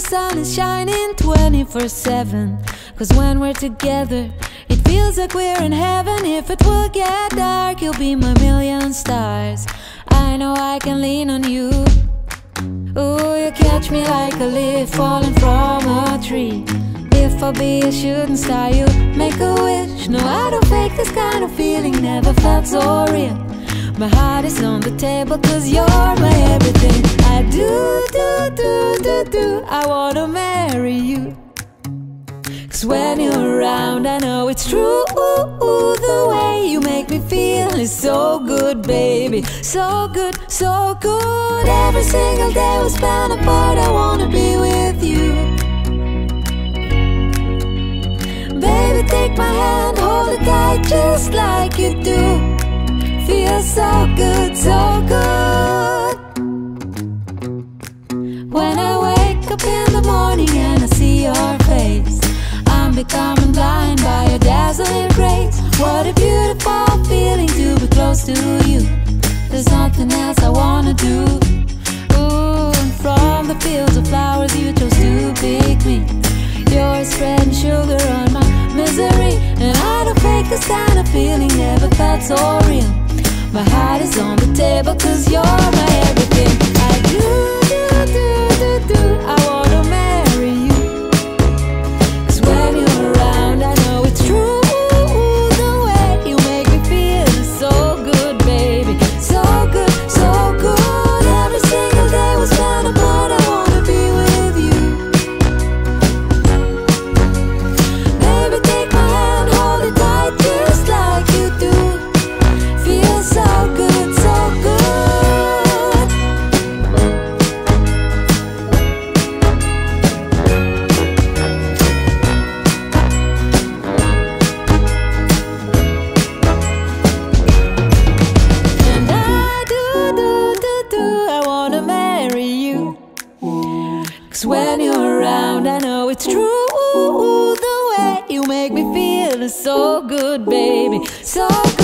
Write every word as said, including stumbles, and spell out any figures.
sun is shining twenty-four seven. Cause when we're together, it feels like we're in heaven. If it will get dark, you'll be my million stars. I know I can lean on you. Ooh, you catch me like a leaf falling from a tree. If I'll be a shooting star, you make a wish. No, I don't fake this kind of feeling, never felt so real. My heart is on the table cause you're my everything. I do, do, do, do, do, I wanna marry you. Cause when you're around I know it's true. The way you make me feel is so good, baby. So good, so good. Every single day we spend apart, I wanna be with you. Baby, take my hand, hold it tight just like you do. Feels so good, so good. When I wake up in the morning and I see your face, I'm becoming blind by your dazzling grace. What a beautiful feeling to be close to you. There's nothing else I wanna do. Ooh, and from the fields of flowers you chose to pick me. You're spreading sugar on my misery. And I don't fake this kind of feeling, never felt so real. My heart is on the table cause you're my everything. I do, do, do, do, do, I wanna marry you. Cause when you're around I know it's true. The way you make me feel is so good, baby. So good, so good. Every single day we spend apart, I wanna be with you. Baby, take my hand, hold it tight just like you do. Feels so good, so good. And I do, do, do, do, I wanna marry you. Cause when you're around I know it's true. The way you make me feel is so good, baby. So good.